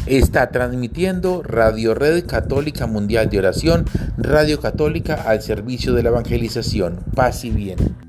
Está transmitiendo Radio Red Católica Mundial de Oración, Radio Católica al servicio de la evangelización. Paz y bien.